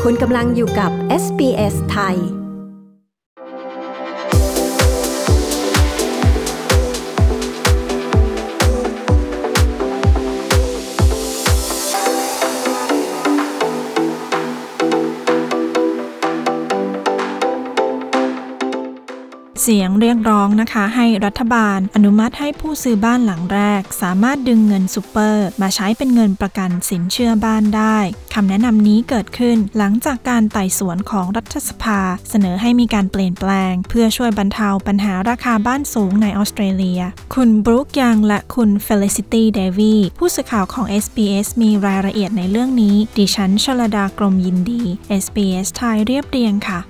คุณกำลังอยู่กับ SBS ไทยเสียงเรียกร้องนะคะให้รัฐบาลอนุมัติให้ผู้ซื้อบ้านหลังแรกสามารถดึงเงินซุปเปอร์มาใช้เป็นเงินประกันสินเชื่อบ้านได้คำแนะนำนี้เกิดขึ้นหลังจากการไต่สวนของรัฐสภาเสนอให้มีการเปลี่ยนแปลงเพื่อช่วยบรรเทาปัญหาราคาบ้านสูงในออสเตรเลียคุณบรูคยังและคุณเฟลิซิตี้เดวีผู้สื่อข่าวของ SBS มีรายละเอียดในเรื่องนี้ดิฉันชลดากรมยินดี SBS ไทยเรียบเรียงค่ะ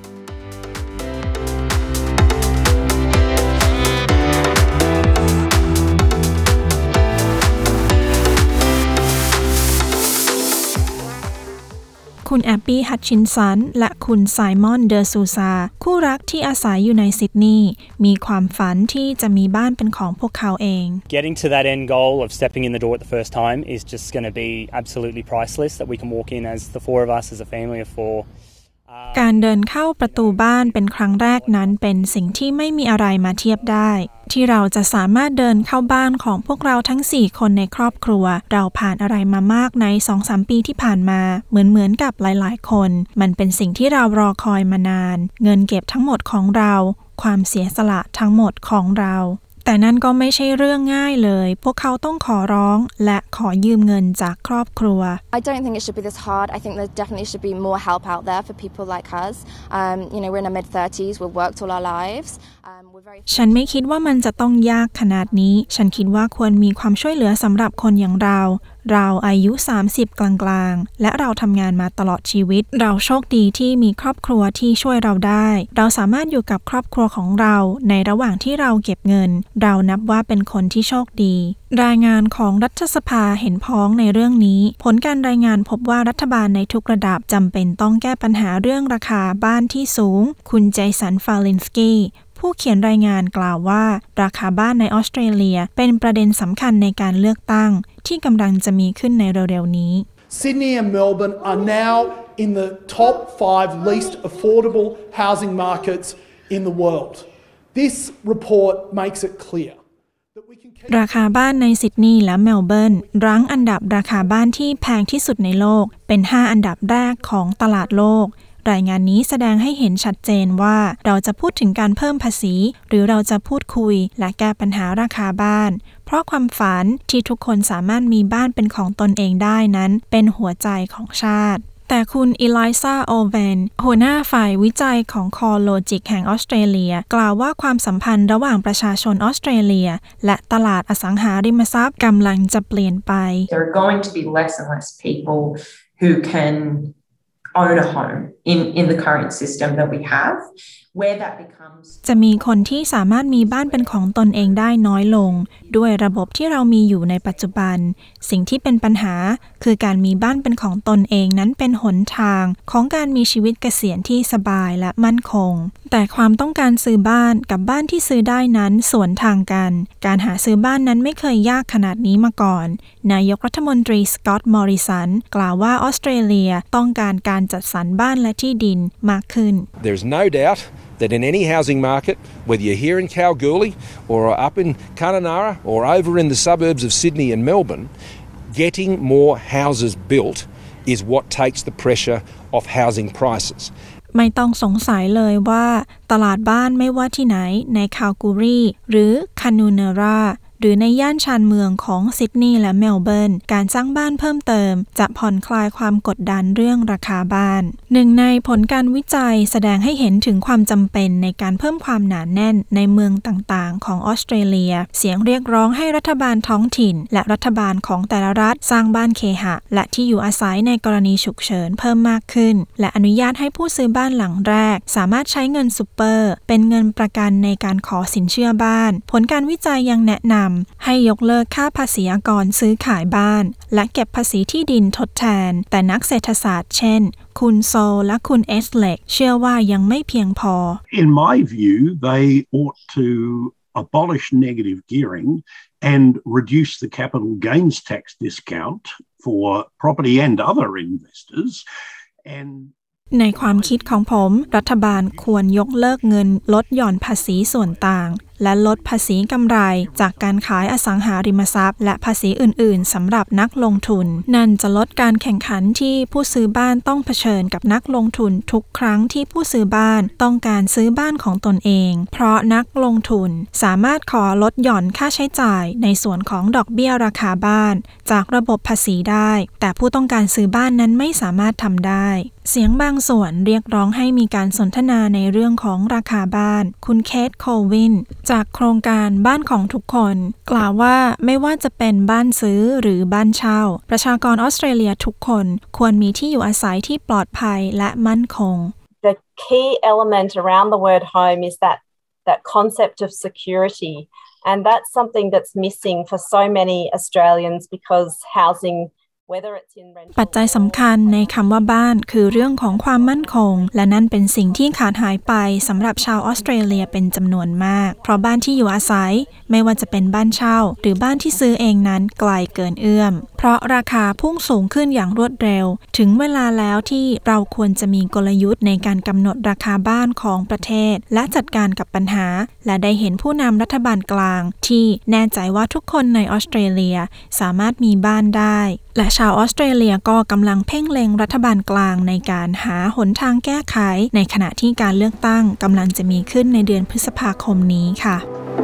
คุณแอบบี้ฮัตชินสันและคุณไซมอนเดอซูซาคู่รักที่อาศัยอยู่ในซิดนีย์มีความฝันที่จะมีบ้านเป็นของพวกเขาเอง Getting to that end goal of stepping in the door at the first time is just going to be absolutely priceless that we can walk in as the four of us as a family of four การเดินเข้าประตูบ้านเป็นครั้งแรกนั้นเป็นสิ่งที่ไม่มีอะไรมาเทียบได้ที่เราจะสามารถเดินเข้าบ้านของพวกเราทั้ง4คนในครอบครัวเราผ่านอะไรมามากใน 2-3 ปีที่ผ่านมาเหมือนกับหลายๆคนมันเป็นสิ่งที่เรารอคอยมานานเงินเก็บทั้งหมดของเราความเสียสละทั้งหมดของเราแต่นั่นก็ไม่ใช่เรื่องง่ายเลยพวกเขาต้องขอร้องและขอยืมเงินจากครอบครัว I don't think it should be this hard. I think there definitely should be more help out there for people like us. We're in our mid-30s. We've worked all our lives. ฉันไม่คิดว่ามันจะต้องยากขนาดนี้ฉันคิดว่าควรมีความช่วยเหลือสำหรับคนอย่างเราอายุ30กลางๆและเราทำงานมาตลอดชีวิตเราโชคดีที่มีครอบครัวที่ช่วยเราได้เราสามารถอยู่กับครอบครัวของเราในระหว่างที่เราเก็บเงินเรานับว่าเป็นคนที่โชคดีรายงานของรัฐสภาเห็นพ้องในเรื่องนี้ผลการรายงานพบว่ารัฐบาลในทุกระดับจำเป็นต้องแก้ปัญหาเรื่องราคาบ้านที่สูงคุณเจสันฟาลินสกี้ผู้เขียนรายงานกล่าวว่าราคาบ้านในออสเตรเลียเป็นประเด็นสำคัญในการเลือกตั้งที่กำลังจะมีขึ้นในเร็วๆนี้ Sydney and Melbourne are now in the top 5 least affordable housing markets in the world. This report makes it clear. ราคาบ้านในซิดนีย์และเมลเบิร์นรั้งอันดับราคาบ้านที่แพงที่สุดในโลกเป็น5อันดับแรกของตลาดโลกรายงานนี้แสดงให้เห็นชัดเจนว่าเราจะพูดถึงการเพิ่มภาษีหรือเราจะพูดคุยและแก้ปัญหาราคาบ้านเพราะความฝันที่ทุกคนสามารถมีบ้านเป็นของตนเองได้นั้นเป็นหัวใจของชาติแต่คุณอีลิซาโอเวนหัวหน้าฝ่ายวิจัยของ CoreLogic แห่งออสเตรเลียกล่าวว่าความสัมพันธ์ระหว่างประชาชนออสเตรเลียและตลาดอสังหาริมทรัพย์กำลังจะเปลี่ยนไป There are going to be less and less people who can own a home in the current system that we have where that becomes จะมีคนที่สามารถมีบ้านเป็นของตนเองได้น้อยลงด้วยระบบที่เรามีอยู่ในปัจจุบันสิ่งที่เป็นปัญหาคือการมีบ้านเป็นของตนเองนั้นเป็นหนทางของการมีชีวิตเกษียณที่สบายและมั่นคงแต่ความต้องการซื้อบ้านกับบ้านที่ซื้อได้นั้นสวนทางกันการหาซื้อบ้านนั้นไม่เคยยากขนาดนี้มาก่อนนายกรัฐมนตรีสก็อตต์มอริสันกล่าวว่าออสเตรเลียต้องการการจัดสรรบ้านและที่ดินมากขึ้น There's no doubt that in any housing market, whether you're here in Kalgoorlie or up in Kununurra or over in the suburbs of Sydney and Melbourne, getting more houses built is what takes the pressure off housing prices. ไม่ต้องสงสัยเลยว่าตลาดบ้านไม่ว่าที่ไหนในคาลกูรีหรือคานูเนราหรือในย่านชานเมืองของซิดนีย์และเมลเบิร์นการสร้างบ้านเพิ่มเติมจะผ่อนคลายความกดดันเรื่องราคาบ้านหนึ่งในผลการวิจัยแสดงให้เห็นถึงความจำเป็นในการเพิ่มความหนาแน่นในเมืองต่างๆของออสเตรเลียเสียงเรียกร้องให้รัฐบาลท้องถิ่นและรัฐบาลของแต่ละรัฐสร้างบ้านเคหะและที่อยู่อาศัยในกรณีฉุกเฉินเพิ่มมากขึ้นและอนุญาตให้ผู้ซื้อบ้านหลังแรกสามารถใช้เงินซุปเปอร์เป็นเงินประกันในการขอสินเชื่อบ้านผลการวิจัยยังแนะนำให้ยกเลิกค่าภาษีอากรซื้อขายบ้านและเก็บภาษีที่ดินทดแทนแต่นักเศรษฐศาสตร์เช่นคุณโซและคุณเอสเล็กเชื่อว่ายังไม่เพียงพอ In my view, they ought to abolish negative gearing and reduce the capital gains tax discount for property and other investors and ในความคิดของผมรัฐบาลควรยกเลิกเงินลดหย่อนภาษีส่วนต่างและลดภาษีกำไรจากการขายอสังหาริมทรัพย์และภาษีอื่นๆสำหรับนักลงทุนนั่นจะลดการแข่งขันที่ผู้ซื้อบ้านต้องเผชิญกับนักลงทุนทุกครั้งที่ผู้ซื้อบ้านต้องการซื้อบ้านของตนเองเพราะนักลงทุนสามารถขอลดหย่อนค่าใช้จ่ายในส่วนของดอกเบี้ยราคาบ้านจากระบบภาษีได้แต่ผู้ต้องการซื้อบ้านนั้นไม่สามารถทำได้เสียงบางส่วนเรียกร้องให้มีการสนทนาในเรื่องของราคาบ้านคุณเคทโควินจากโครงการบ้านของทุกคนกล่าวว่าไม่ว่าจะเป็นบ้านซื้อหรือบ้านเช่าประชากรออสเตรเลียทุกคนควรมีที่อยู่อาศัยที่ปลอดภัยและมั่นคง The key element around the word home is that concept of security, and that's something that's missing for so many Australians because housingปัจจัยสำคัญในคำว่าบ้านคือเรื่องของความมั่นคงและนั่นเป็นสิ่งที่ขาดหายไปสำหรับชาวออสเตรเลียเป็นจำนวนมากเพราะบ้านที่อยู่อาศัยไม่ว่าจะเป็นบ้านเช่าหรือบ้านที่ซื้อเองนั้นไกลเกินเอื้อมเพราะราคาพุ่งสูงขึ้นอย่างรวดเร็วถึงเวลาแล้วที่เราควรจะมีกลยุทธ์ในการกำหนดราคาบ้านของประเทศและจัดการกับปัญหาและได้เห็นผู้นำรัฐบาลกลางที่แน่ใจว่าทุกคนในออสเตรเลียสามารถมีบ้านได้และชาวออสเตรเลียก็กำลังเพ่งเล็งรัฐบาลกลางในการหาหนทางแก้ไขในขณะที่การเลือกตั้งกำลังจะมีขึ้นในเดือนพฤษภาคมนี้ค่ะ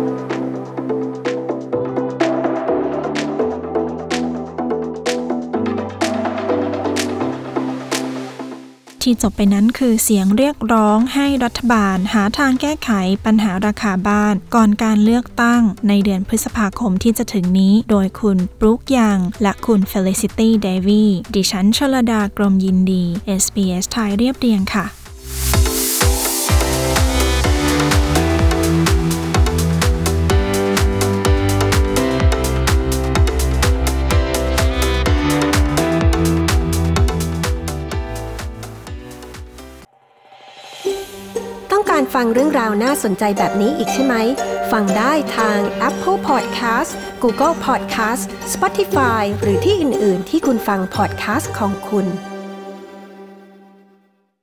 ที่จบไปนั้นคือเสียงเรียกร้องให้รัฐบาลหาทางแก้ไขปัญหาราคาบ้านก่อนการเลือกตั้งในเดือนพฤษภาคมที่จะถึงนี้โดยคุณบรูคยังและคุณเฟลิซิตี้เดวีดิฉันชลดากรมยินดี SBS ไทยเรียบเรียงค่ะการฟังเรื่องราวน่าสนใจแบบนี้อีกใช่ไหมฟังได้ทาง Apple Podcast Google Podcast Spotify หรือที่อื่นๆที่คุณฟัง podcast ของคุณ